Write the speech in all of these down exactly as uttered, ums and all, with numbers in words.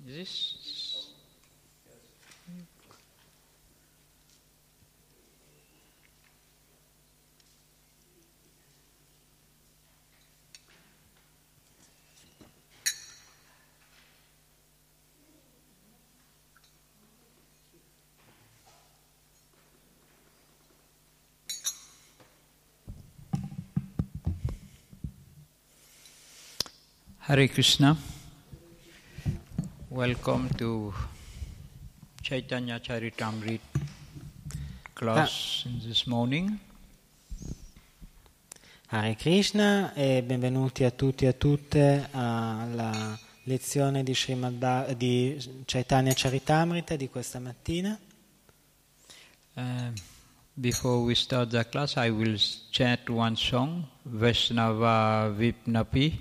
Is this? Hare Krishna. Welcome to Chaitanya Charitamrita class ah. this morning. Hare Krishna e benvenuti a tutti e a tutte alla lezione di, Srimad, di Chaitanya Charitamrita di questa mattina. Uh, before we start the class, I will chant one song, Vaishnava Vipnapi.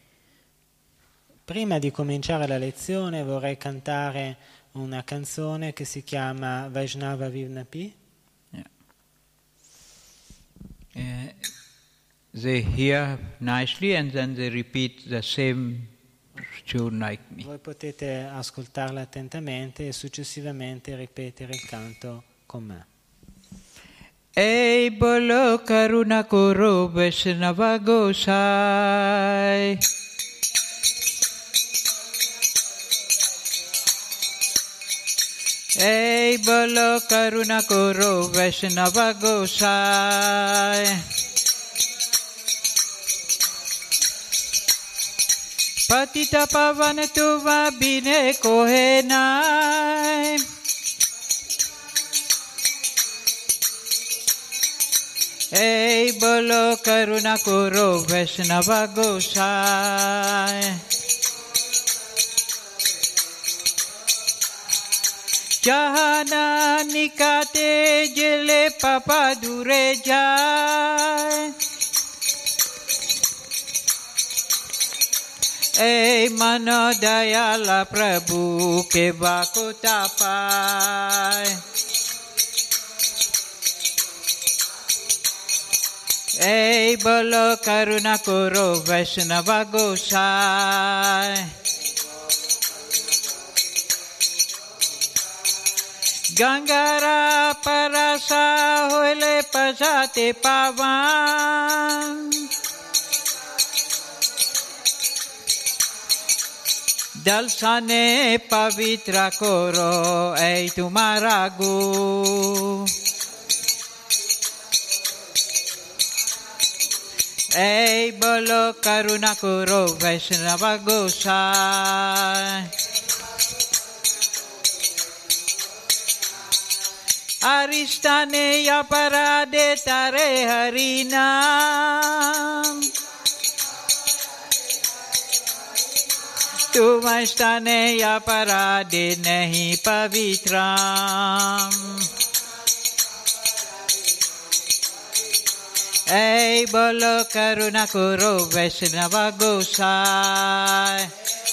Prima di cominciare la lezione vorrei cantare una canzone che si chiama Vaishnava Vipnapi. Yeah. Uh, they hear nicely and then they repeat the same tune like me. Voi potete ascoltarla attentamente e successivamente ripetere il canto con me. Ei bolo karuna koro Vaishnava Gosai. Ei bolo karuna koro Vaishnava Gosai. Patita pavane tuva bine kohenai. Ei bolo karuna koro Vaishnava Gosai. Jahana nikate jele papa dure jai. Ei mano dayala Prabhu ke bako tapai. Ei bolo karuna koro Vaishnava Gosai. Gangara parasa hoile pasate pavan. Dalsane pavitra koro ei tumara gu. Ei bolo karuna koro Vaishnava Gosai. Aristane aparade tare harinam. Tumastane aparade nahi pavitram. Ei bolo karuna koro Vaishnava Gosai.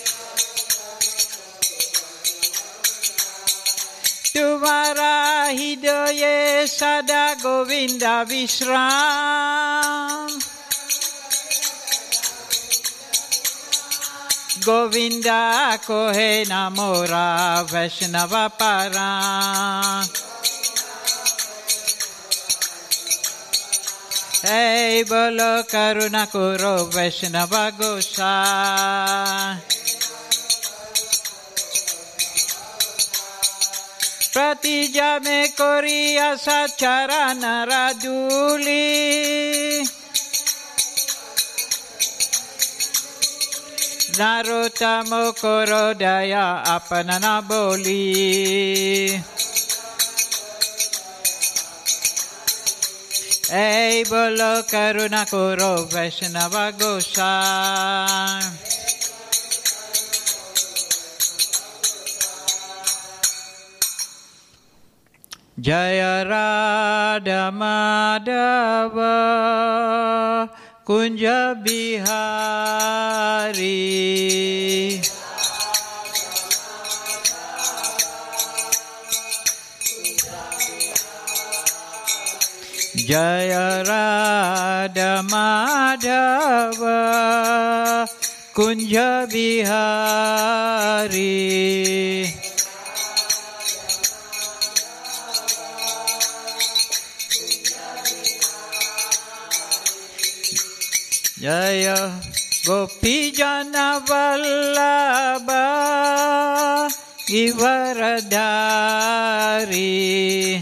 Tumara hidoye sada Govinda Vishram. Govinda kohe namora Vaishnava para. Ei bolo karuna koro Vaishnava Gosai. Pratija me koriya sacharana raduli. Narotamo korodaya apanana boli. Ei bolo karuna koro Vaishnava Gosai. Jaya Radha Madhava Kunja Bihari. Jaya Radha Madhava Kunja Bihari. Jaya Gopi Jana Vallabha Givaradhari.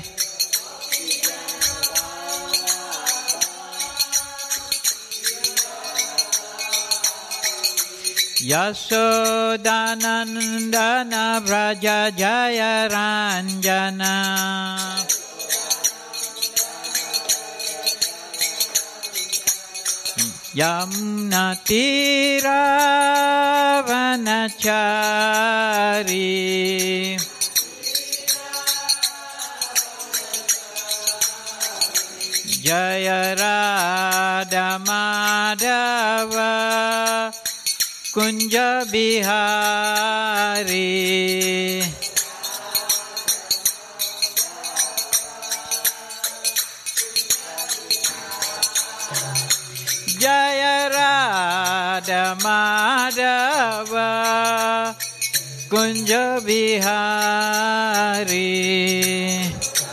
Yasodanandana Vraja Jaya Ranjana. Yamuna Tira Vanachari. Jaya Radha Madhava Kunja Bihari. Jaya Radha Madhava Kunja Bihari.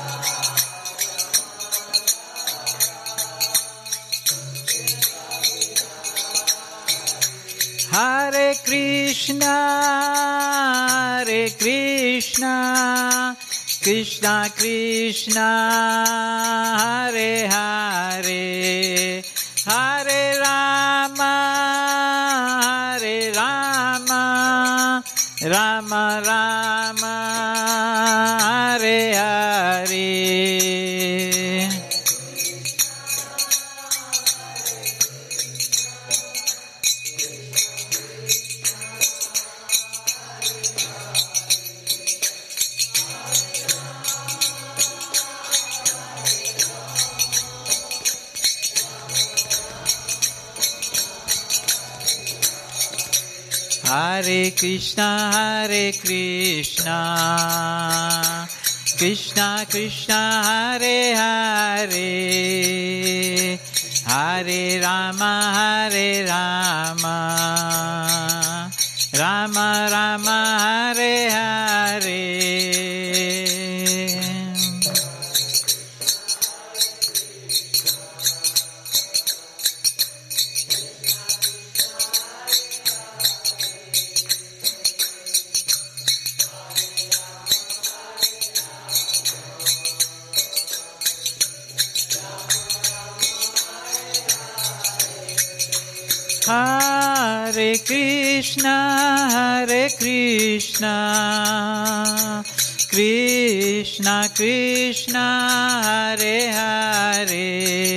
Hare Krishna, Hare Krishna, Krishna Krishna, Hare Hare, Hare Rama, Hare Rama, Rama Rama, Hare Hare. Hare Krishna, Hare Krishna, Krishna Krishna, Hare Hare, Hare Rama, Hare Rama, Rama Rama, Hare Hare. Hare Krishna, Hare Krishna, Krishna Krishna, Hare Hare,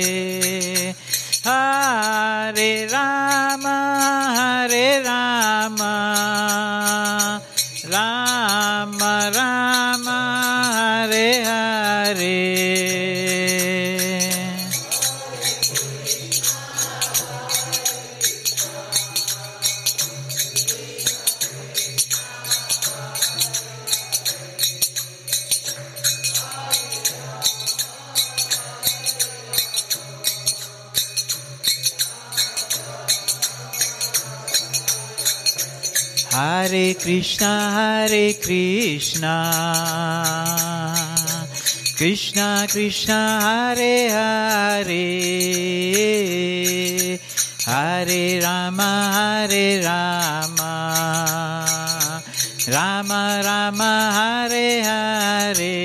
Hare Rama, Hare Rama, Rama Rama, Hare Hare. Hare Krishna, Hare Krishna, Krishna Krishna, Hare Hare, Hare Rama, Hare Rama, Rama Rama, Hare Hare.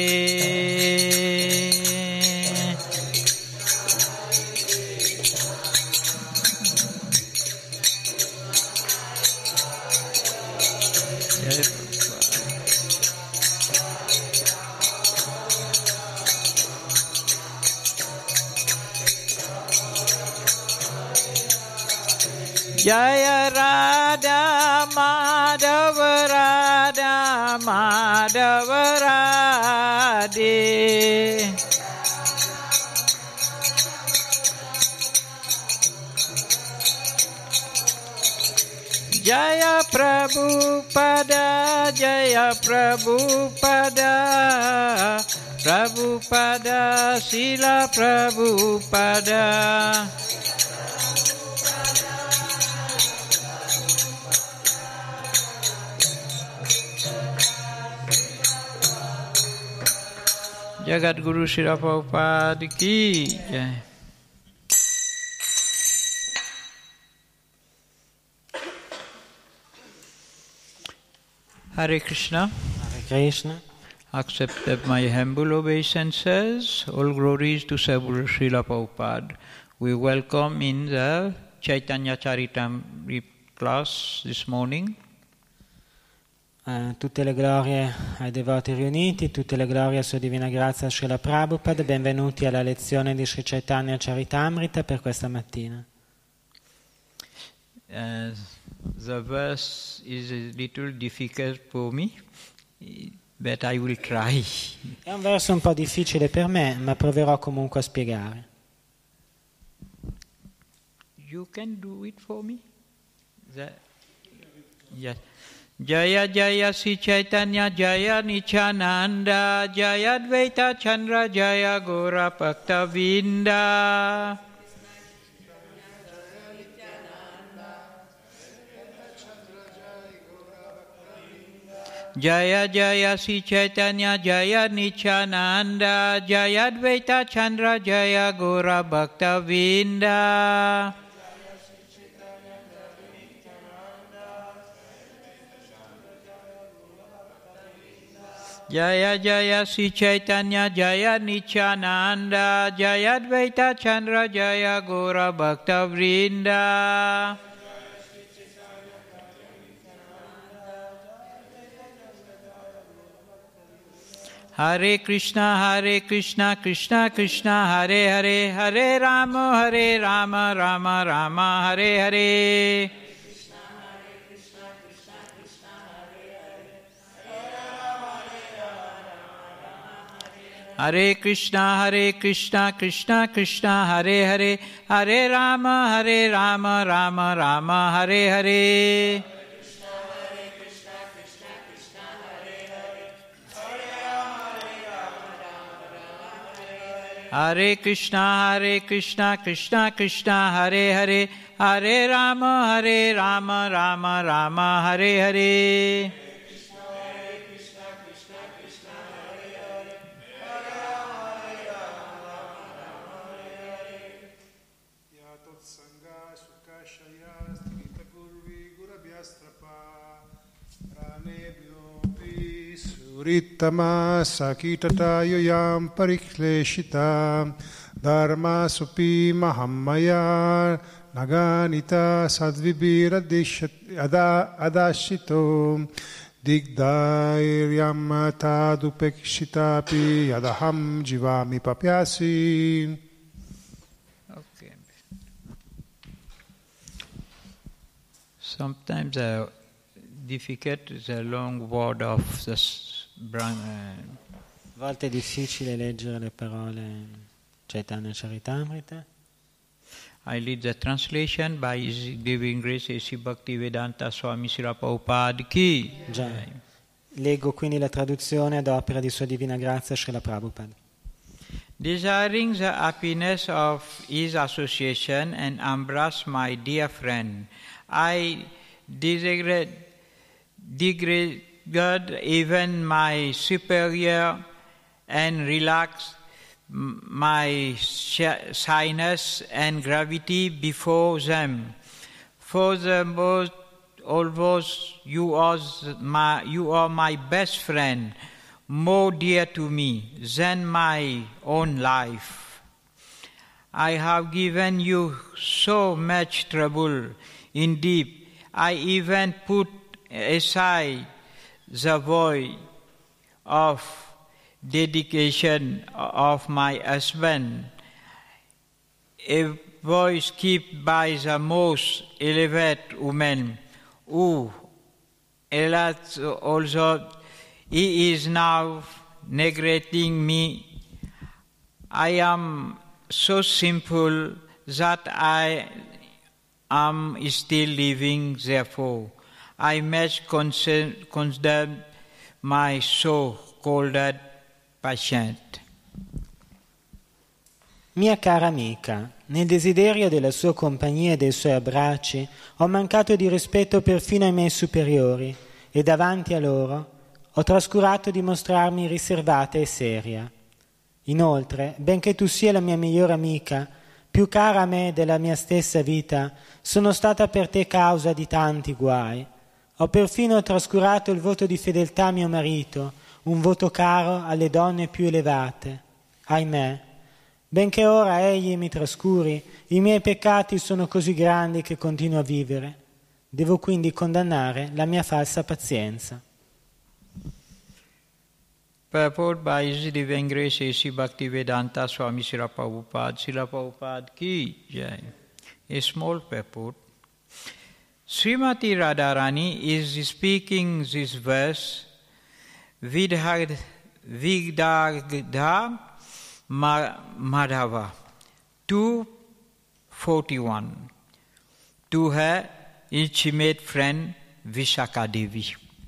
Jaya Radha Madhava Radha Madhava Radhe. Jaya Prabhupada, Jaya Prabhupada, Prabhupada, Sila Prabhupada. Jagat Guru Srila Prabhupada Ki Jai. Hare Krishna. Hare Krishna. Accept my humble obeisances. All glories to Sadhguru Srila Prabhupada. We welcome in the Chaitanya Charitamrita class this morning. Uh, tutte le glorie ai devoti riuniti, tutte le glorie a Sua Divina Grazia Srila Prabhupada. Benvenuti alla lezione di Sri Chaitanya Charitamrita per questa mattina. Uh, the verse is a little difficult for me, but I will try. È un verso un po' difficile per me, ma proverò comunque a spiegare. You can do it for me? The, yes. Jaya Jaya Sri Chaitanya Jaya Nityananda Jaya Advaita Chandra Jaya Gora Bhakta Vinda. Jaya Jaya Sri Chaitanya Jaya Nityananda Jaya Advaita Chandra Jaya Gora Bhakta Vinda. Jaya Jaya Sri Chaitanya Jaya Nityananda Jaya Advaita Chandra Jaya Gora Bhakta Vrinda. Hare Krishna Hare Krishna Krishna Krishna Hare Hare Hare Rama Hare Rama Rama Rama Hare Hare. Hare Krishna Hare Krishna Krishna Krishna Hare Hare Hare Rama Hare Rama Rama Rama Hare Hare. Hare Krishna Hare Krishna Krishna Krishna Hare Hare Hare Rama Hare Rama Rama Rama Hare Hare. Rittama sakitata yoyam parikleshita dharma supi mahammaya naganita sadvibira adashito digdairyam tadupekshitapi adaham jivami papyasi. Okay. Sometimes uh, difficult is a long word of this. A volte è difficile leggere le parole Chaitanya Charitamrita. I lead the translation by His Divine Grace A C Bhaktivedanta Swami Srila Prabhupada Ki. Già. Leggo quindi la traduzione ad opera di Sua Divina Grazia Srila Prabhupada. Desiring the happiness of His association and embrace my dear friend, I degrade, degrade God, even my superior, and relax my shyness and gravity before them. For the most, although you are my, you are my best friend, more dear to me than my own life. I have given you so much trouble. Indeed, I even put aside the vow of dedication of my husband, a voice kept by the most elevated woman, who, alas, also he is now neglecting me. I am so simple that I am still living, therefore I must condemn my so-called patient. Mia cara amica, nel desiderio della sua compagnia e dei suoi abbracci ho mancato di rispetto perfino ai miei superiori e davanti a loro ho trascurato di mostrarmi riservata e seria. Inoltre, benché tu sia la mia migliore amica, più cara a me della mia stessa vita, sono stata per te causa di tanti guai. Ho perfino trascurato il voto di fedeltà a mio marito, un voto caro alle donne più elevate. Ahimè, benché ora egli mi trascuri, i miei peccati sono così grandi che continuo a vivere. Devo quindi condannare la mia falsa pazienza. Purport by His Divine Grace A C Bhaktivedanta Swami Srila Prabhupada, Srila Prabhupada ki jai. A small purport. Srimati Radharani is speaking this verse Vidagdha Madhava two forty-one to her intimate friend Vishaka Devi.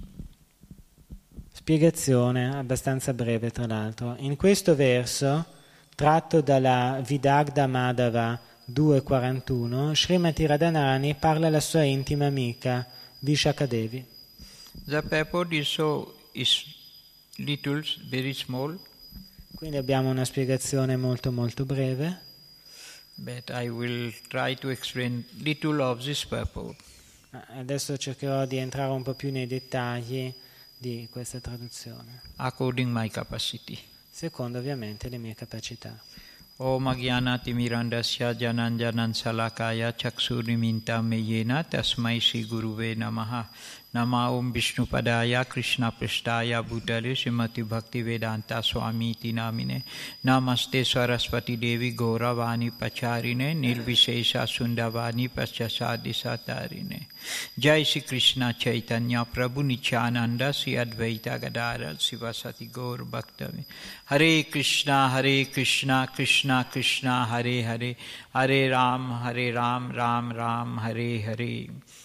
Spiegazione abbastanza breve, tra l'altro. In questo verso, tratto dalla Vidagdha Madhava due quarantuno, Srimati Radharani parla alla sua intima amica Vishaka Devi. The purport is so is little, very small. Quindi abbiamo una spiegazione molto molto breve. But I will try to explain little of this purport. Adesso cercherò di entrare un po' più nei dettagli di questa traduzione. According my capacity. Secondo ovviamente le mie capacità. Om Agyanati Mirandasya Jananjanan Salakaya Chaksurniminta Meyena Tasmai Sri Guruve Namaha. Nama Om Vishnupadaya Krishna Prasthaya Bhutale Srimati Bhaktivedanta Swami Iti Namine. Namaste Saraswati Devi Gauravani Pacharine Nilvishesha Sundavani Paschasadi Satarine. Jai Sri Krishna Chaitanya Prabhu Nityananda Sri Advaita Gadara Sivasati Gaur Bhaktami. Hare Krishna Hare Krishna Krishna Krishna Hare Hare Hare Ram Hare Ram Ram Ram Hare Hare.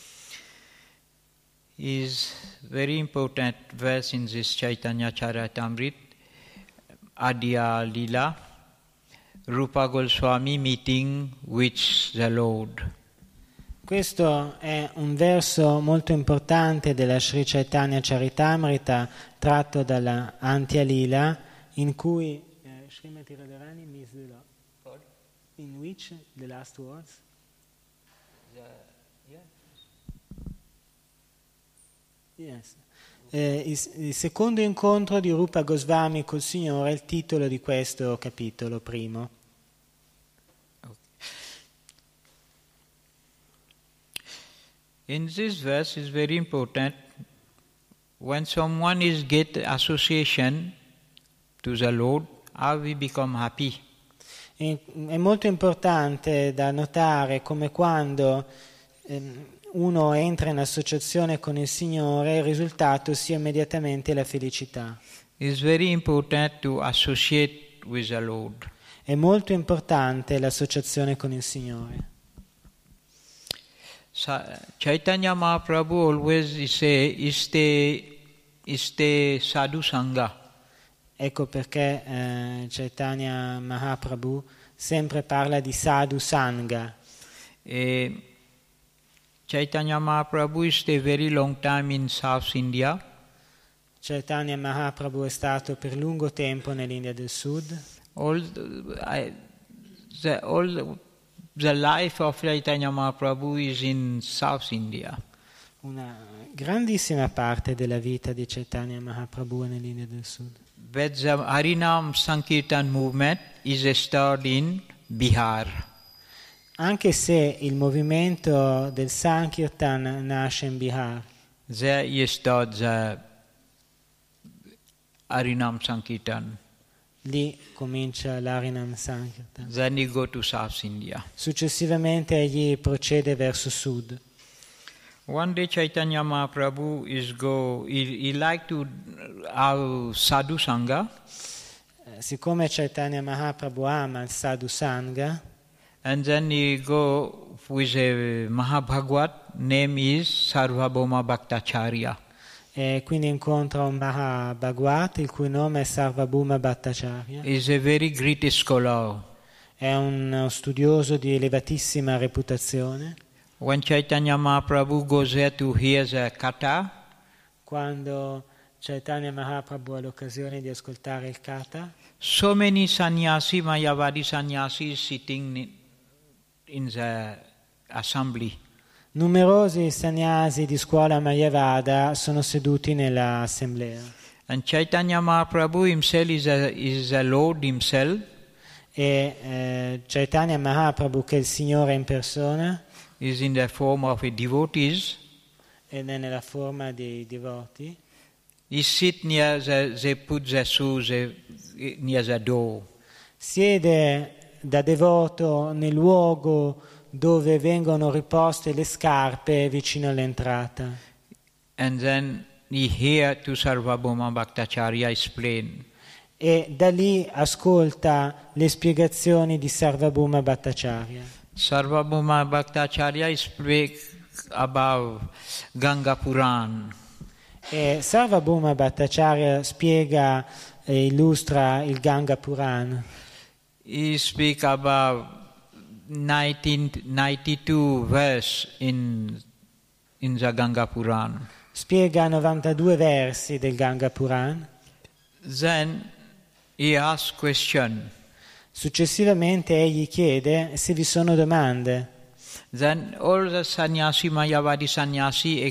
Is very important verse in this Chaitanya Charitamrita, Adya Lila, Rupa Goswami meeting with the Lord. Questo è un verso molto importante della Sri Chaitanya Charitamrita tratto dalla Antya Lila, in cui eh, Srimati Radharani meets the Lord. In which the last words? The, yeah. Yes. Eh, il, il secondo incontro di Rupa Goswami col Signore è il titolo di questo capitolo primo. Okay. In this verse is very important. When someone is get association to the Lord, how we become happy. E, è molto importante da notare come quando ehm, uno entra in associazione con il Signore, il risultato sia immediatamente la felicità. It's very important to associate with the Lord. È molto importante l'associazione con il Signore. Sa- Chaitanya Mahaprabhu always say, iste, iste sadhu sangha. Ecco perché eh, Chaitanya Mahaprabhu sempre parla di sadhu sangha. E Chaitanya Mahaprabhu stayed a very long time in South India. Chaitanya Mahaprabhu è stato per lungo tempo nell'India del Sud. All the, I, the, all the, the life of Chaitanya Mahaprabhu is in South India. Una grandissima parte della vita di Chaitanya Mahaprabhu è nell'India del Sud. But the Harinam Sankirtan movement is started in Bihar. Anche se il movimento del Sankirtan nasce in Bihar. There is started the Harinam Sankirtan. Lì comincia l'Harinam Sankirtan. Then he go to South India. Successivamente egli procede verso sud. One day Chaitanya Mahaprabhu is go, he, he like to have sadhu sangha. Eh, siccome Chaitanya Mahaprabhu ama il Sadhu Sangha, And then he go with a Mahabhagwat, name is Sarvabhauma Bhattacharya. e quindi incontra un Mahabhagwat il cui nome è Sarvabhauma Bhattacharya. He is a very great scholar. È uno studioso di elevatissima reputazione. When Chaitanya Mahaprabhu goes there to hear the katha, Quando Chaitanya Mahaprabhu ha l'occasione di ascoltare il Katha. So many sannyasi, Mayavadi sannyasis sitting in the assembly. Numerosi sannyasi di scuola Mayavada sono seduti nell'assemblea. And Chaitanya Mahaprabhu himself is a, is a Lord himself. E eh, Chaitanya Mahaprabhu, che è il Signore in persona, is in the form of a devotees. ed è nella forma dei devoti. He sit near the, they put the shoes uh, near the door. Siede da devoto nel luogo dove vengono riposte le scarpe vicino all'entrata. And then he hear to Sarvabhauma Bhattacharya explain. E da lì ascolta le spiegazioni di Sarvabhauma Bhattacharya. Sarvabhauma Bhattacharya speak about Ganga Puran. E Sarvabhauma Bhattacharya spiega e illustra il Ganga Puran. He speak about nineteen ninety-two verse in in the Ganga Puran. Spiega novantadue versi del Ganga Puran. Then he asks question. Successivamente egli chiede se vi sono domande. Then all the sannyasi, Mayavadi sannyasi,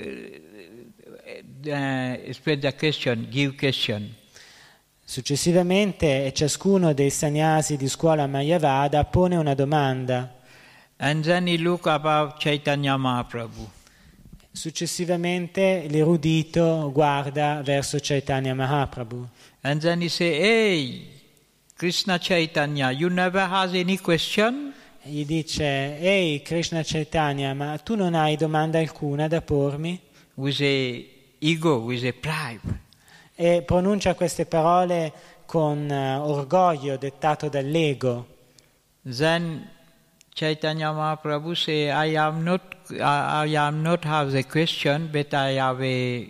uh, uh, explain the question, give question. Successivamente ciascuno dei sannyasi di scuola Mayavada pone una domanda. And then he look about Chaitanya Mahaprabhu. Successivamente l'erudito guarda verso Chaitanya Mahaprabhu. And then he say, hey, Krishna Chaitanya, you never has any question? E gli dice, ehi Krishna Chaitanya, ma tu non hai domanda alcuna da pormi? With a ego, with a pride. E pronuncia queste parole con uh, orgoglio dettato dall'ego. Then Chaitanya Mahaprabhu say, I am not, I, I am not have the question, but I have a,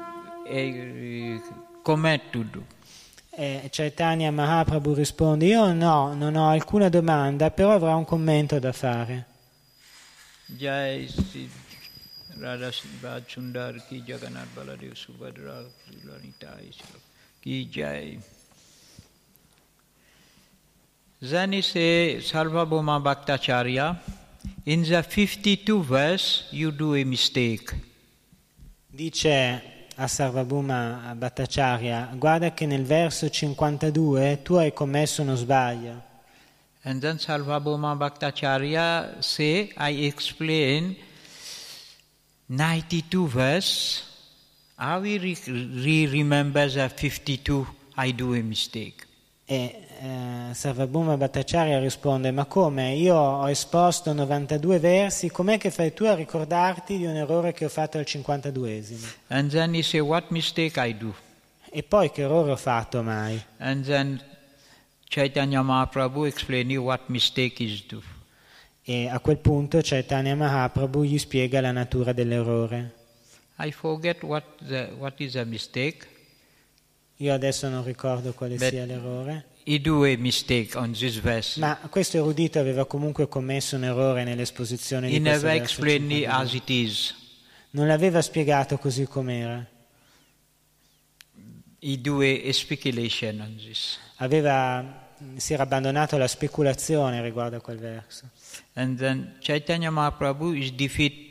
a comment to do. E Chaitanya Mahaprabhu risponde, io no, non ho alcuna domanda, però avrò un commento da fare. Jai Sri Radha Bhaj Sundar ki Jagannath Baladev Subhadra Lalita ki Jai. Then he say, Sarvabhauma Bhattacharya, in the fifty-two verse you do a mistake. Dice a Sarvabhauma Bhattacharya, guarda che nel verso cinquantadue tu hai commesso uno sbaglio. And then Sarvabhauma Bhattacharya say, I explain ninety-two verse, how we re- re- remember the fifty-two, I do a mistake. E eh, Sarvabhauma Bhattacharya risponde, ma come? Io ho esposto novantadue versi, com'è che fai tu a ricordarti di un errore che ho fatto al cinquantaduesimo? And then he say, what mistake I do? E poi che errore ho fatto mai? And then Chaitanya Mahaprabhu explain you what mistake is do. E a quel punto Chaitanya Mahaprabhu gli spiega la natura dell'errore. I forget what the, what is a mistake. Io adesso non ricordo quale But sia l'errore. he do a mistake on this verse. Ma questo erudito aveva comunque commesso un errore nell'esposizione He di questo never verso explained it cinquantadue. as it is. Non l'aveva spiegato così com'era. He do a, a speculation on this. Aveva, si era abbandonato alla speculazione riguardo a quel verso. And then Chaitanya Mahaprabhu is defeat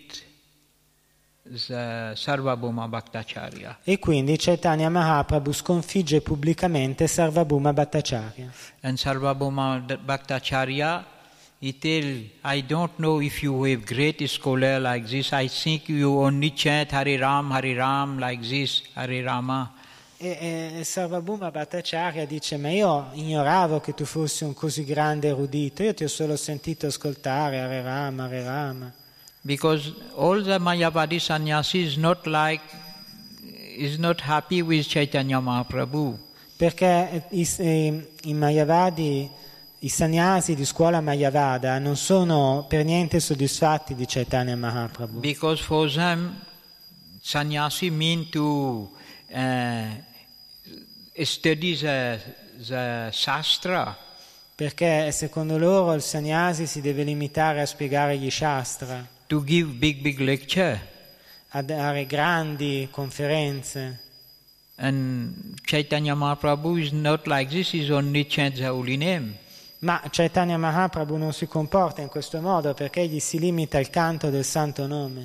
the Sarvabhauma Bhattacharya. E quindi Chaitanya Mahaprabhu sconfigge pubblicamente Sarvabhauma Bhattacharya. And Sarvabhauma Bhattacharya, he tell, I don't know if you have great scholar like this. I think you only chant Hare Ram, Hare Ram like this, Hare Rama. E, e Sarvabhauma Bhattacharya dice, ma io ignoravo che tu fossi un così grande erudito, io ti ho solo sentito ascoltare Hare Rama, Hare Rama. Because all the Mayavadi sannyasi is not like, is not happy with Chaitanya Mahaprabhu. Perché i, i, i Mayavadi, i sannyasi di scuola Mayavada non sono per niente soddisfatti di Chaitanya Mahaprabhu. Because for them, sannyasi mean to uh, study the, the Shastra. Perché secondo loro il sannyasi si deve limitare a spiegare gli Shastra, To give big, big lecture. a dare grandi conferenze. And Chaitanya Mahaprabhu is not like this, he only chants the holy name. Ma Chaitanya Mahaprabhu non si comporta in questo modo perché egli si limita al canto del santo nome.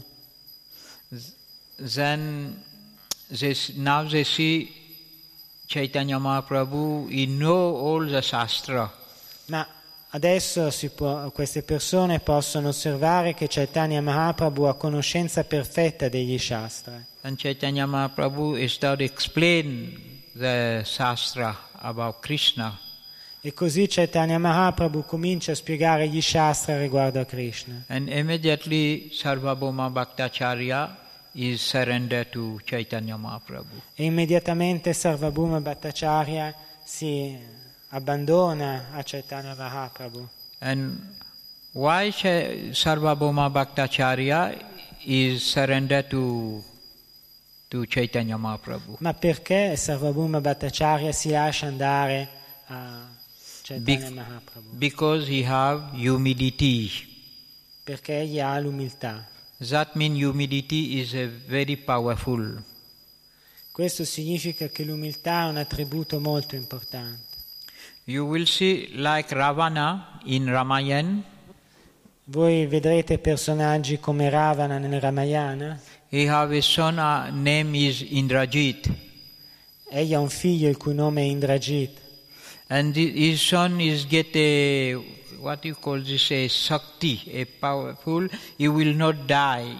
Then they, now they see Chaitanya Mahaprabhu, he know all the Shastra. Ma adesso si può, queste persone possono osservare che Chaitanya Mahaprabhu ha conoscenza perfetta degli Shastra. And Chaitanya Mahaprabhu started to explain the Shastra about Krishna. E così Chaitanya Mahaprabhu comincia a spiegare gli Shastra riguardo a Krishna. And immediately Sarvabhauma Bhattacharya is surrendered to Chaitanya Mahaprabhu. E immediatamente Sarvabhauma Bhattacharya si abbandona a Chaitanya Mahaprabhu. And why Sarvabhauma Bhattacharya is surrendered to, to Chaitanya Mahaprabhu? Ma perché Sarvabhauma Bhattacharya si lascia andare a Chaitanya Be- Mahaprabhu? because he have humility. Perché egli ha l'umiltà. That means humility is a very powerful. Questo significa che l'umiltà è un attributo molto importante. You will see like Ravana in Ramayana. Voi vedrete personaggi come Ravana nel Ramayana. He have a son, uh, name is Indrajit. Egli ha un figlio il cui nome è Indrajit. And the, his son is get a, what you call this, a Shakti, a powerful, he will not die.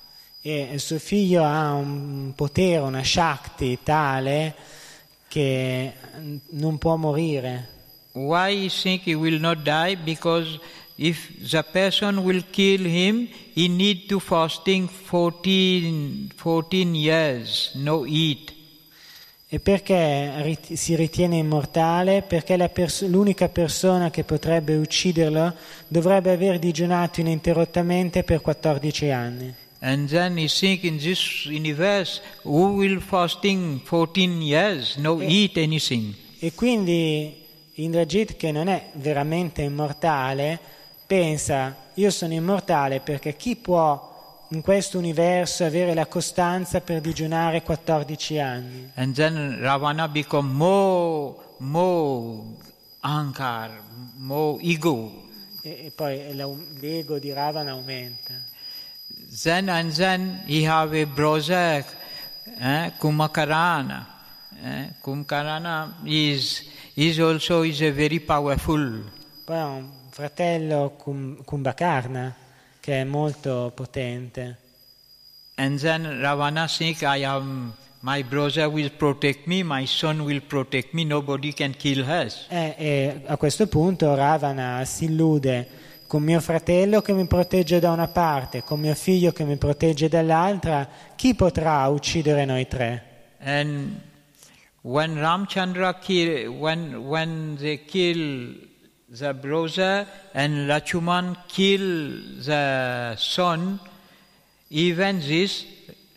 E il suo figlio ha un potere, una Shakti tale che non può morire. Why he think he will not die? Because if the person will kill him, he need to fasting fourteen, fourteen years, no eat. E perché rit- si ritiene immortale? Perché la pers- l'unica persona che potrebbe ucciderlo dovrebbe aver digiunato ininterrottamente per quattordici anni. And then he think in this universe, who will fasting fourteen years, no eat anything. E quindi Indrajit, che non è veramente immortale, pensa: io sono immortale perché chi può in questo universo avere la costanza per digiunare quattordici anni? And then Ravana become more, more ankar, more ego. E, e poi la- l'ego di Ravana aumenta. Then and then he have a brother, eh, Kumakarana. Eh, Kumakarana is, is also is a very powerful. Poi ha un fratello Kum- Kumbhakarna che è molto potente. And then Ravana think, I am, my brother will protect me, my son will protect me, nobody can kill us. E, e a questo punto Ravana si illude: con mio fratello che mi protegge da una parte, con mio figlio che mi protegge dall'altra, chi potrà uccidere noi tre? And when Ramchandra kill, when when they kill the brother and Lachuman kill the son, even this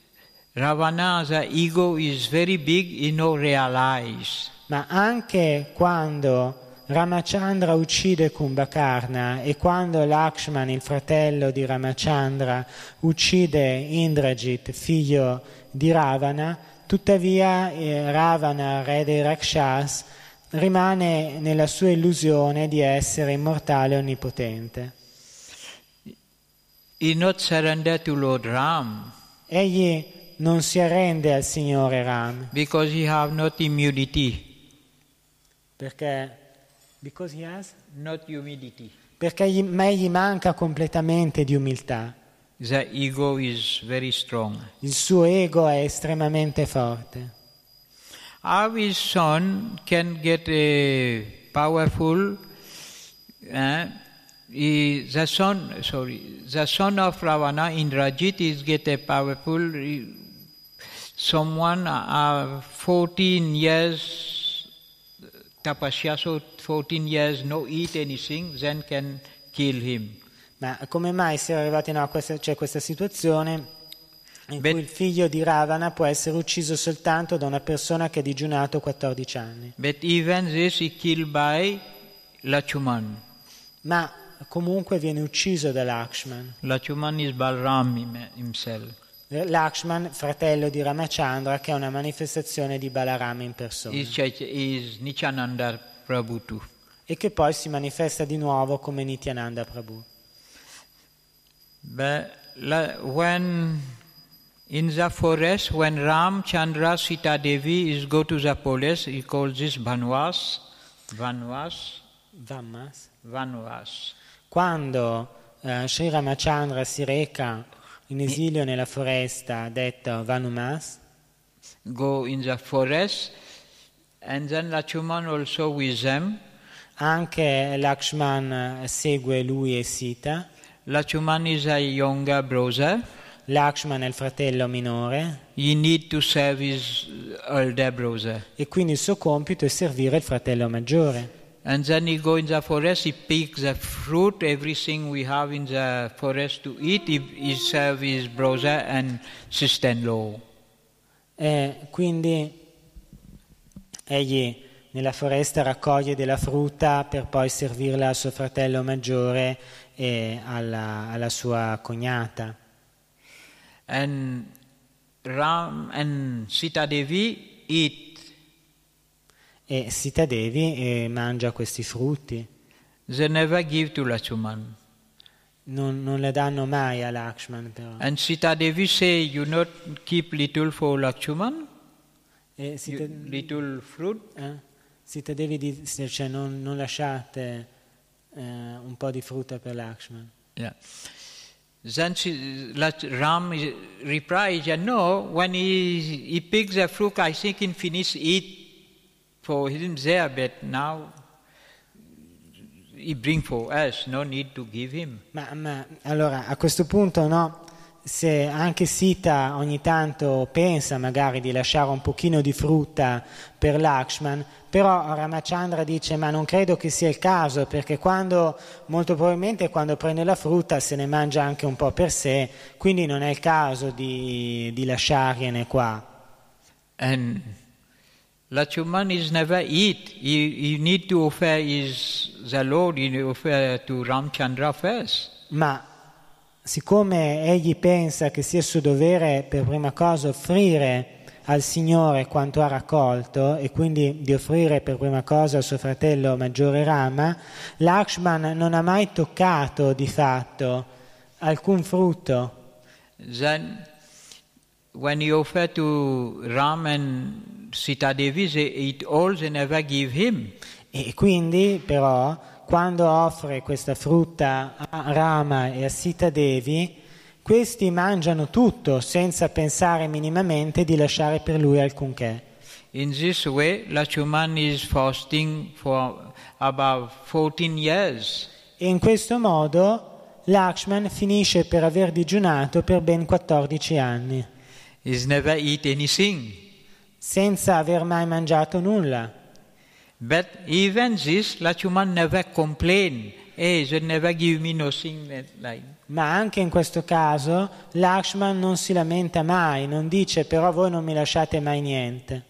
Ravana, the ego is very big, he no realize. Ma anche quando Ramachandra uccide Kumbhakarna e quando Lakshman, il fratello di Ramachandra, uccide Indrajit, figlio di Ravana, tuttavia eh, Ravana, re dei Rakshas, rimane nella sua illusione di essere immortale e onnipotente. He not surrender to Lord Ram Egli non si arrende al Signore Ram because he have not immunity, perché, because he has? not humility. Perché gli, ma egli manca completamente di umiltà. The ego is very strong. Il suo ego è estremamente forte. How his son can get a powerful, uh, he, the son, sorry, the son of Ravana, Indrajit, is get a powerful, someone, uh, fourteen years tapasya, so fourteen years no eat anything, then can kill him. Ma come mai si è arrivati no, a questa, c'è questa situazione in Beh- cui il figlio di Ravana può essere ucciso soltanto da una persona che ha digiunato quattordici anni? But even this he killed by Lachuman. Ma comunque viene ucciso da Lakshman. Lachuman is Balram him- himself. Lakshman, fratello di Ramachandra, che è una manifestazione di Balarama in persona. Is, Chaitya- is Nityananda Prabhu too. E che poi si manifesta di nuovo come Nityananda Prabhu. But la- when in the forest, when Ram, Chandra, Sita Devi is go to the forest, he calls this Vanvas, Vanvas, Vammas. Vanvas. Quando eh, Sri Ramachandra si reca in esilio nella foresta, detto Vanumas, Go in the forest, and then Lakshman also with them. anche Lakshman segue lui e Sita. Lakshman is a younger brother. Lakshman è il fratello minore He need to serve his elder brother. e quindi il suo compito è servire il fratello maggiore. And then he go in the forest, he pick the fruit, everything we have in the forest to eat, he, he serve his brother and sister-in-law. E quindi egli nella foresta raccoglie della frutta per poi servirla al suo fratello maggiore e alla, alla sua cognata. And Ram and Sita Devi eat. E Sita Devi eh, mangia questi frutti. They never give to Lakshman. Non, non le danno mai a Lakshman però. And Sita Devi say, you not keep little for Lakshman, E Sita, You- little fruit. eh? Sita Devi dice, cioè, non, non lasciate eh, un po' di frutta per Lakshman. Yeah. Then she, Lak- Ram is- replies, yeah, no, when he, he picks the fruit, I think he finish eat for him there, but now he bring for us, no need to give him. Ma, ma allora a questo punto no, se anche Sita ogni tanto pensa magari di lasciare un pochino di frutta per Lakshman, però Ramachandra dice ma non credo che sia il caso, perché quando molto probabilmente quando prende la frutta se ne mangia anche un po' per sé, quindi non è il caso di, di lasciargliene qua. And Lakshman is never eat. He, he need to offer his the Lord, he offer to Ramchandra first. Ma siccome egli pensa che sia suo dovere per prima cosa offrire al Signore quanto ha raccolto e quindi di offrire per prima cosa al suo fratello maggiore Rama, Lakshman non ha mai toccato di fatto alcun frutto. Then when he offer to Ram and Sita Devi, they eat all, they never give him. E quindi però quando offre questa frutta a Rama e a Sita Devi, questi mangiano tutto senza pensare minimamente di lasciare per lui alcunché. In this way, Lakshman is fasting for about fourteen years. E in questo modo Lakshman finisce per aver digiunato per ben quattordici anni, He's never eat anything. senza aver mai mangiato nulla. But even this, Lakshman never complain. Hey, they never give me nothing like. Ma anche in questo caso Lakshman non si lamenta mai, non dice però voi non mi lasciate mai niente.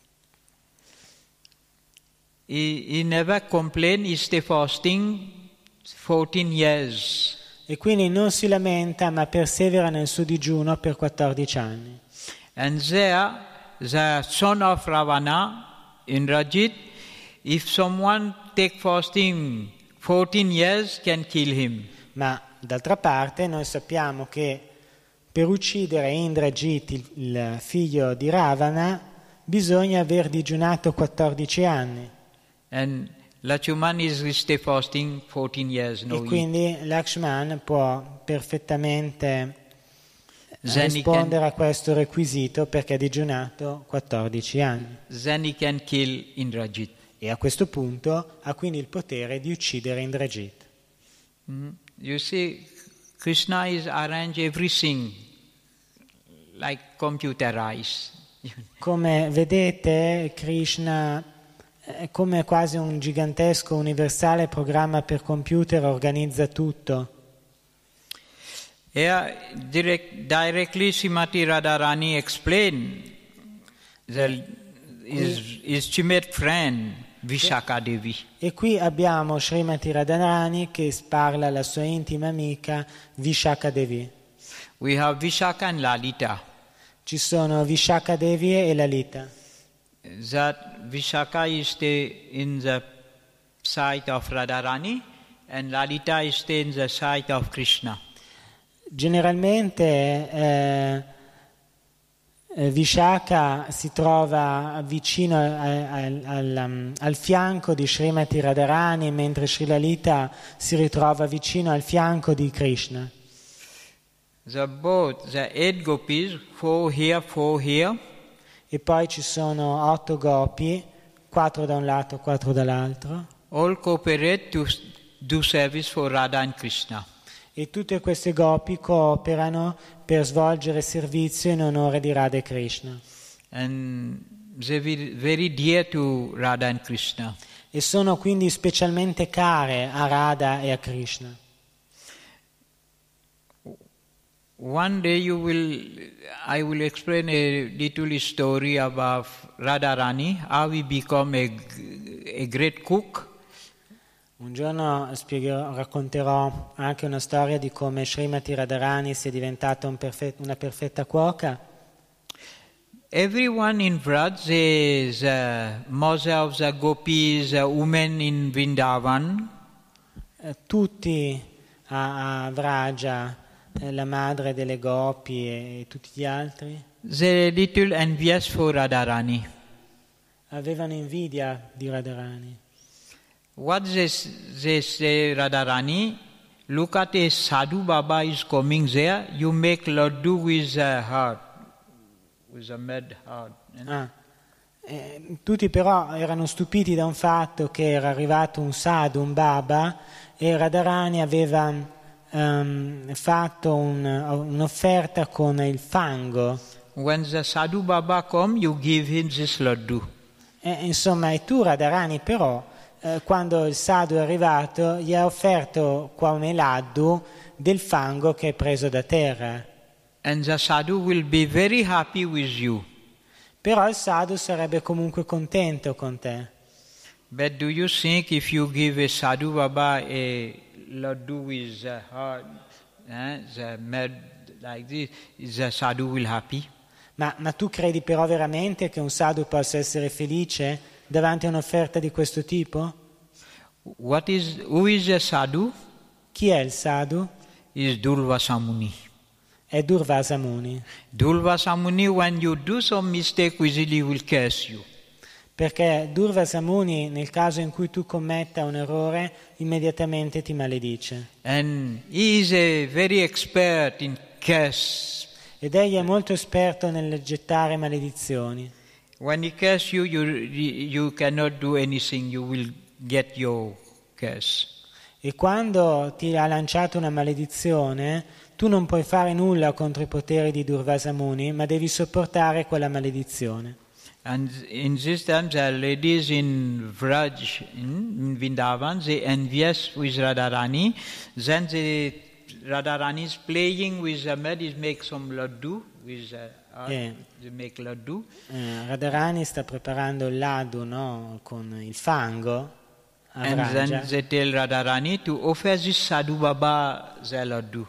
He, he never complain, he stay fasting fourteen years. E quindi non si lamenta ma persevera nel suo digiuno per quattordici anni. And there, the son of Ravana, Indrajit, if someone take fasting fourteen years, can kill him. Ma d'altra parte noi sappiamo che per uccidere Indrajit, il, il figlio di Ravana, bisogna aver digiunato quattordici anni. And Lakshman is stay fasting fourteen years, no E eat. quindi Lakshman può perfettamente Then he rispondere can, a questo requisito perché ha digiunato quattordici anni. then he can kill Indrajit. E a questo punto ha quindi il potere di uccidere Indrajit. Mm. You see, Krishna is arrange everything like computerized. Come vedete, Krishna è come quasi un gigantesco universale programma per computer, organizza tutto. Here, direct, directly Srimati Radharani explained the, his, his chimate friend, Vishaka Devi. E qui abbiamo Srimati Radharani che parla alla sua intima amica Vishaka Devi. We have Vishaka and Lalita. Ci sono Vishaka Devi e Lalita. That Vishaka is the, in the side of Radharani and Lalita is the, in the side of Krishna. Generalmente eh, eh, Vishaka si trova vicino al, al, al, al fianco di Srimati Radharani, mentre Sri Lalita si ritrova vicino al fianco di Krishna. The both, the eight gopis, four here, four here. E poi ci sono otto gopi, quattro da un lato, quattro dall'altro. All cooperate to do service for Radha and Krishna. E tutte queste gopi cooperano per svolgere servizio in onore di Radha e Krishna. And they were very dear to Radha and Krishna. E sono quindi specialmente care a Radha e a Krishna. One day you will, I will explain a little story about Radharani, how he become a, a great cook. Un giorno spiegherò, racconterò anche una storia di come Srimati Radharani sia diventata un perfet, una perfetta cuoca. Everyone in Vraj is uh, most of the gopis, uh, women in Vrindavan. Eh, tutti a, a Vraja, eh, la madre delle gopi e, e tutti gli altri, They little envious for Radharani. avevano invidia di Radharani. What they, they say, Radharani, look at a sadhu Baba is coming there, you make laddu with a heart, with a mad heart. You know? Ah. Eh, tutti però erano stupiti da un fatto che era arrivato un sadhu, un baba, e Radharani aveva um, fatto un, un'offerta con il fango. When the sadhu Baba come, you give him this laddu. Eh, insomma, e tu Radharani però, eh, quando il sadhu è arrivato, gli ha offerto come laddu del fango che è preso da terra. And the sadhu will be very happy with you. Però il sadhu sarebbe comunque contento con te. But do you think if you give a sadhu Baba a laddu with the heart, eh, the mad like this, the sadhu will happy? Ma, ma tu credi però veramente che un sadhu possa essere felice davanti a un'offerta di questo tipo? What is, who is a sadhu? Chi è il sadhu? Is Durvasa Muni. È Durvasa Muni. Durvasa Muni, when you do some mistake, easily will curse you. Perché Durvasa Muni, nel caso in cui tu commetta un errore, immediatamente ti maledice. And he is a very expert in curse. Ed egli è molto esperto nel gettare maledizioni. When he curses you, you, you cannot do anything, you will get your curse. E quando ti ha lanciato una maledizione, tu non puoi fare nulla contro i poteri di Durvasa Muni, ma devi sopportare quella maledizione. And in this time, the ladies in Vraj, in, in Vrindavan, they envious with Radharani. Then the Radharani is playing with the mad, he make some laddu with the art, Yeah. they make laddu. Eh, Radharani sta preparando il laddu, no? Con il fango a And Vraja. then they tell Radharani to offer this sadhu Baba the laddu.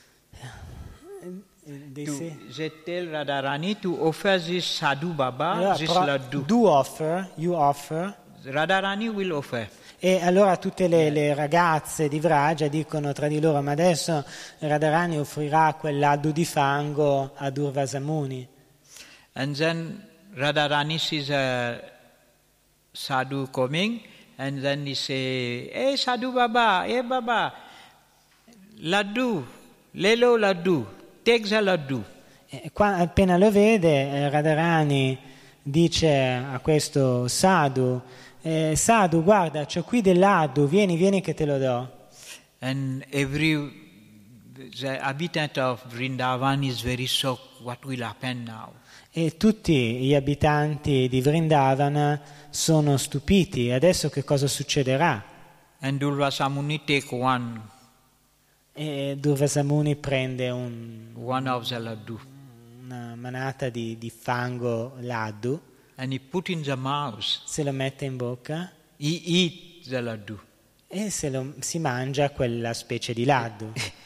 They To, say- they tell Radharani to offer this sadhu Baba Allora, this però, laddu. do offer, you offer. Radharani will offer. E allora tutte le, le ragazze di Vraja dicono tra di loro: ma adesso Radharani offrirà quel laddu di fango a Durvasa Muni. And then Radharani sees a sadhu coming, and then he say, "Hey sadhu Baba, hey Baba, laddu, lelo laddu, take the laddu." E qua, appena lo vede, eh, Radharani dice a questo sadhu: eh, sadhu, guarda, c'ho qui del laddu, vieni, vieni che te lo do. And every the habitant of Vrindavan is very shocked. What will happen now? E tutti gli abitanti di Vrindavana sono stupiti. Adesso che cosa succederà? And Durvasa Muni take one, E Durvasa Muni prende un, one of the laddu, una manata di, di fango laddu, and he put in the mouth. se lo mette in bocca He eat the laddu. e se lo, si mangia quella specie di laddu.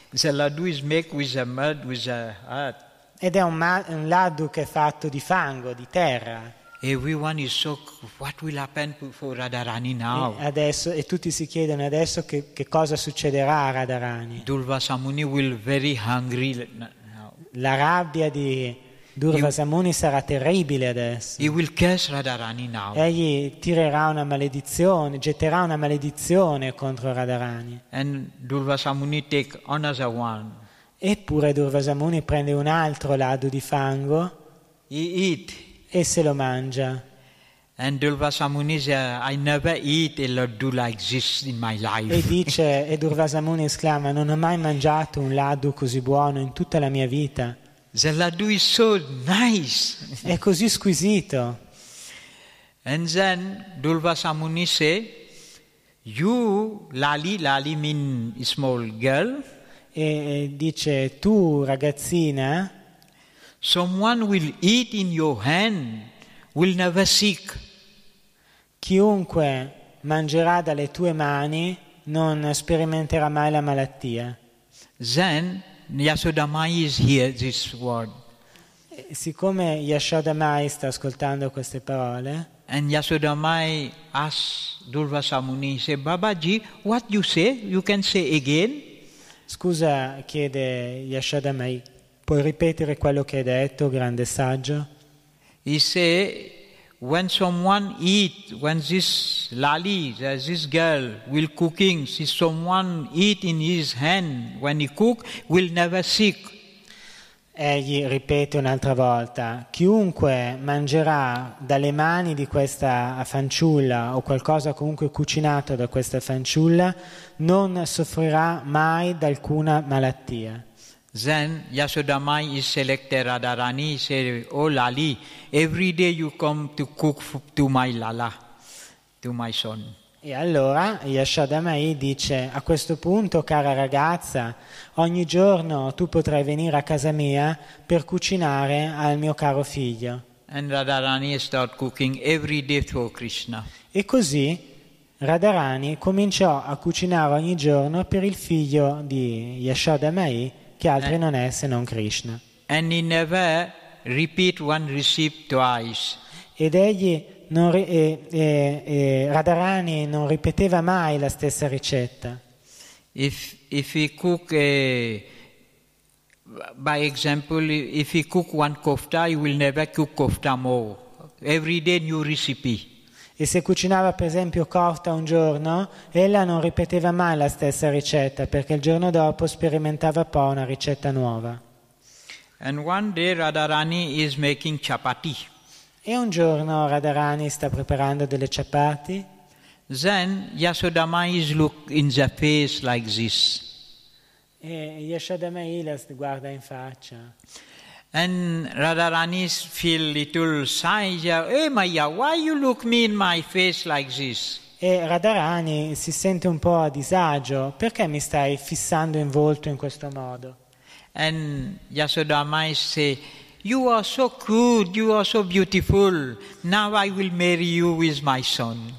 The laddu is made with the mud, with the earth. Ed è un, ma- un laddu che è fatto di fango, di terra. Everyone is so, what will happen to- for Radharani now? E, adesso, e tutti si chiedono adesso che, che cosa succederà a Radharani. Durvasa Muni will very hungry now. La rabbia di Durvasa Muni sarà terribile adesso. He will curse Radharani now. Egli tirerà una maledizione, getterà una maledizione contro Radharani. And Durvasa Muni take another one. Eppure Durvasa Muni prende un altro laddu di fango He eat. e se lo mangia. And Durvasa Muni says, I never eat a laddu like this in my E life. dice, e Durvasa Muni esclama: non ho mai mangiato un laddu così buono in tutta la mia vita. The laddu is so nice. È così squisito. And then Durvasa Muni say, you, Lali, Lali mean small girl, E dice: tu ragazzina, someone will eat in your hand, will never sick. chiunque mangerà dalle tue mani non sperimenterà mai la malattia. Then Yasodamai is here, this word. E siccome Yashoda Mai sta ascoltando queste parole, And Yasodamai asks Durvasa Muni, say, Babaji, what you say? You can say again? scusa, chiede Yashoda Mai, puoi ripetere quello che hai detto, grande saggio? He say, when someone eat, when this Lali, this girl will cooking, see someone eat in his hand, when he cook, will never sick. Egli ripete un'altra volta: chiunque mangerà dalle mani di questa fanciulla o qualcosa comunque cucinato da questa fanciulla non soffrirà mai da alcuna malattia. Then Yasodamai is selected Radharani, say, oh Lali, every day you come to cook f- to my Lala, to my son. E allora Yashoda Mai dice: a questo punto, cara ragazza, ogni giorno tu potrai venire a casa mia per cucinare al mio caro figlio. And Radharani start cooking every day for Krishna. E così Radharani cominciò a cucinare ogni giorno per il figlio di Yashoda Mai, che altro Eh. non è se non Krishna. And he never repeat one recipe twice. Ed egli non ri- e, e- e Radharani non ripeteva mai la stessa ricetta. If if he cook a, by example, if he cook one kofta, he will never cook kofta more. Every day new recipe. E se cucinava per esempio kofta un giorno, ella non ripeteva mai la stessa ricetta, perché il giorno dopo sperimentava poi una ricetta nuova. And one day Radharani is making chapati. E un giorno Radharani sta preparando delle chapati Then Yasodamai is look in the face like this. e Yashoda Mai la guarda in faccia. And Radharani feel little shy. Hey Maya, why you look me in my face like this? E Radharani si sente un po' a disagio: perché mi stai fissando in volto in questo modo? And Yasodamai say, you are so good, you are so beautiful. Now I will marry you with my son.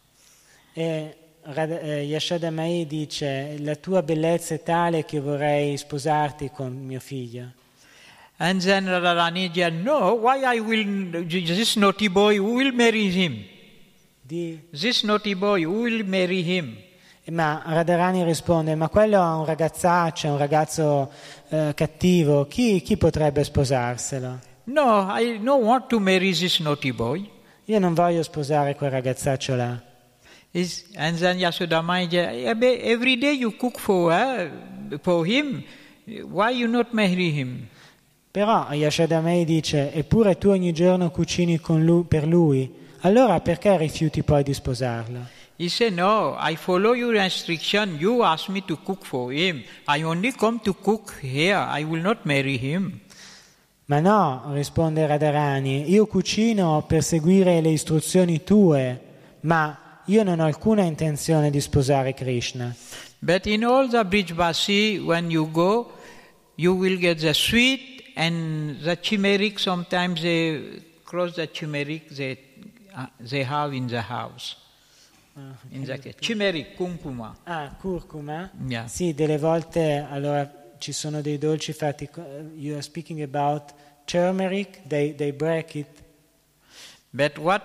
E Radha- eh, Yashoda Mai dice: la tua bellezza è tale che vorrei sposarti con mio figlio. And then Radharani said, no, why I will, this naughty boy, who will marry him? Di- This naughty boy, who will marry him? Ma Radharani risponde: ma quello è un ragazzaccio, è un ragazzo eh, cattivo, chi, chi potrebbe sposarselo? No, I don't want to marry this naughty boy. Io non voglio sposare quel ragazzaccio là. Is, and then Yasodamai said, every day you cook for her, for him, why you not marry him? Però Yashoda Mai dice: eppure tu ogni giorno cucini con lui, per lui, allora perché rifiuti poi di sposarlo? He said, no, I follow your instruction. You asked me to cook for him. I only come to cook here. I will not marry him. Ma no, risponde Radharani, io cucino per seguire le istruzioni tue, ma io non ho alcuna intenzione di sposare Krishna. But in all the Brijvasi, when you go, you will get the sweet and the turmeric. Sometimes they cross the turmeric they, uh, they have in the house. In the turmeric, kumkuma. Ah, curcuma? Yeah. Sì, delle volte allora ci sono dei dolci fatti, you are speaking about turmeric, they, they break it. But what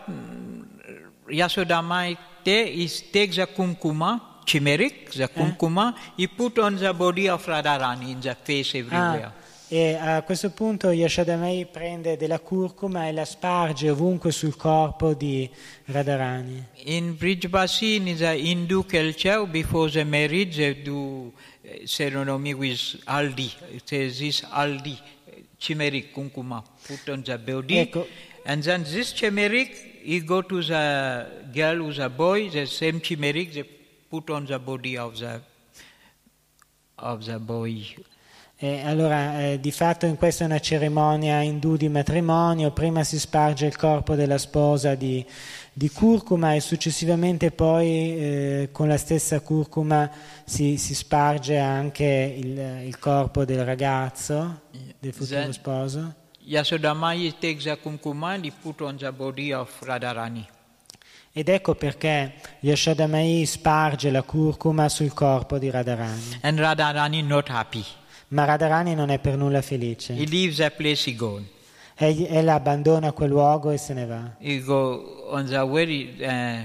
Yasodamai is take the kumkuma, turmeric, the kumkuma, he put on the body of Radharani in the face everywhere. Ah, e a questo punto Yashodamai prende della curcuma e la sparge ovunque sul corpo di Radharani. In Brijbasi, in the Hindu culture, before the marriage, they do ceremony with haldi. It says this haldi, turmeric, kumkuma, put on the body. Ecco. And then this turmeric, you go to the girl who's a boy, the same turmeric, they put on the body of the, of the boy. E allora, eh, di fatto in questa è una cerimonia indù di matrimonio, prima si sparge il corpo della sposa di, di curcuma e successivamente poi eh, con la stessa curcuma si, si sparge anche il, il corpo del ragazzo, del futuro Then, sposo. Yasodamai takes the kumkuma and he put on the body of Radharani. Ed ecco perché Yashodamai sparge la curcuma sul corpo di Radharani. And Radharani not happy. Ma Radharani non è per nulla felice. He leaves that place, he goes. Egli, ella abbandona quel luogo e se ne va. He go on the way, uh,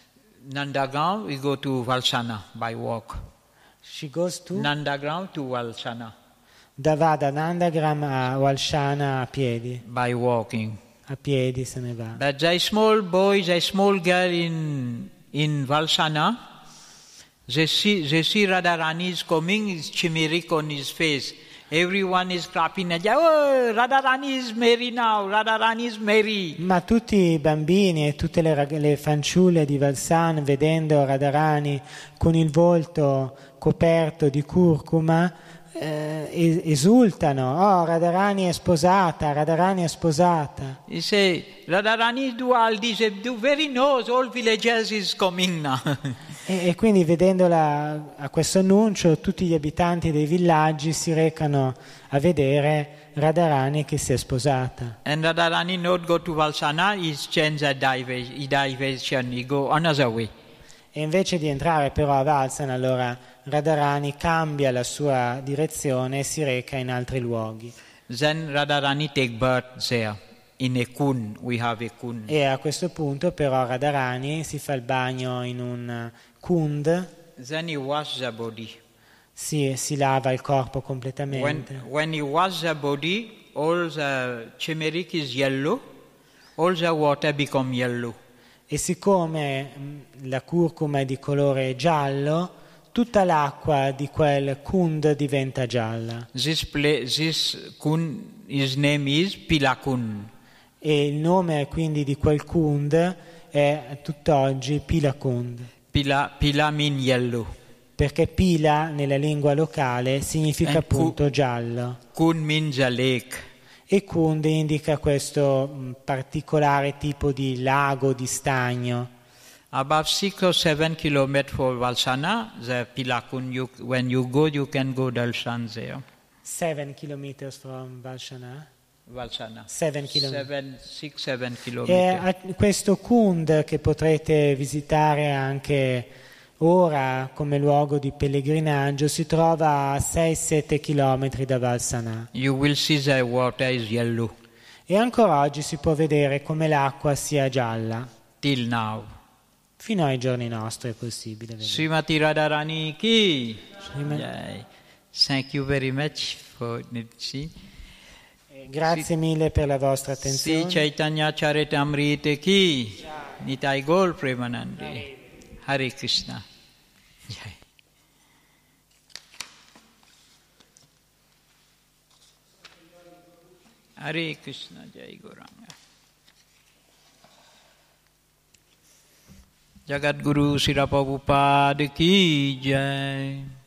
Nandagaon, we go to Valsana by walk. She goes to? Nandagaon to Valsana. Da, va da Nandagram a Valshana a piedi. By walking. A piedi se ne va. But the small boy, the small girl in, in Valsana, they see, they see Radharani is coming, his chimeric on his face. Everyone is clapping. Oh, Radharani is Mary now, Radharani is Mary. Ma tutti i bambini e tutte le, rag- le fanciulle di Valsan, vedendo Radharani con il volto coperto di curcuma, eh, esultano. Oh, Radharani è sposata, Radharani è sposata. He say, Radharani do all this, do very knows, all villagers is coming now. E, e quindi vedendola a questo annuncio tutti gli abitanti dei villaggi si recano a vedere Radharani che si è sposata. And Radharani not go to Valsana, he change the diversion, he go another way. E invece di entrare però a Valsana, allora Radharani cambia la sua direzione e si reca in altri luoghi. Then Radharani take birth there. In a kun, we have a kun. E a questo punto però Radharani si fa il bagno in un kund, Then he wash the body. si, si lava il corpo When, completamente. when he wash the body, all the turmeric is yellow, all the water become yellow. E siccome mh, la curcuma è di colore giallo, tutta l'acqua di quel kund diventa gialla. This play, this kun, his name is Pilakun. E il nome quindi di quel kund è tutt'oggi Pilakund, Pila, Pila mean yellow. perché Pila nella lingua locale significa And appunto ku- giallo Kun means a lake. e Kund indica questo mh, particolare tipo di lago, di stagno. About six or seven kilometers for Valsana, the Pilakun, you, when you go, you can go darshan there. Seven kilometers from Valshana. Valsana. Seven chilometri. Seven, six, seven E kilometers. a questo Kund che potrete visitare anche ora come luogo di pellegrinaggio si trova a sei sette chilometri da Valsana. You will see the water is yellow E ancora oggi si può vedere come l'acqua sia gialla. till now. Fino ai giorni nostri è possibile vedere. Srimati Radharani ki. Srima- Jai. Thank you very much for see. Eh, Grazie mille per la vostra Sri attenzione. Chaitanya Charitamrita ki. Nitai Gaur Premanande. Hare Krishna. Jai. Hare Krishna. Jai Gauranga. Jagat Guru Sri Prabhupada ki jai.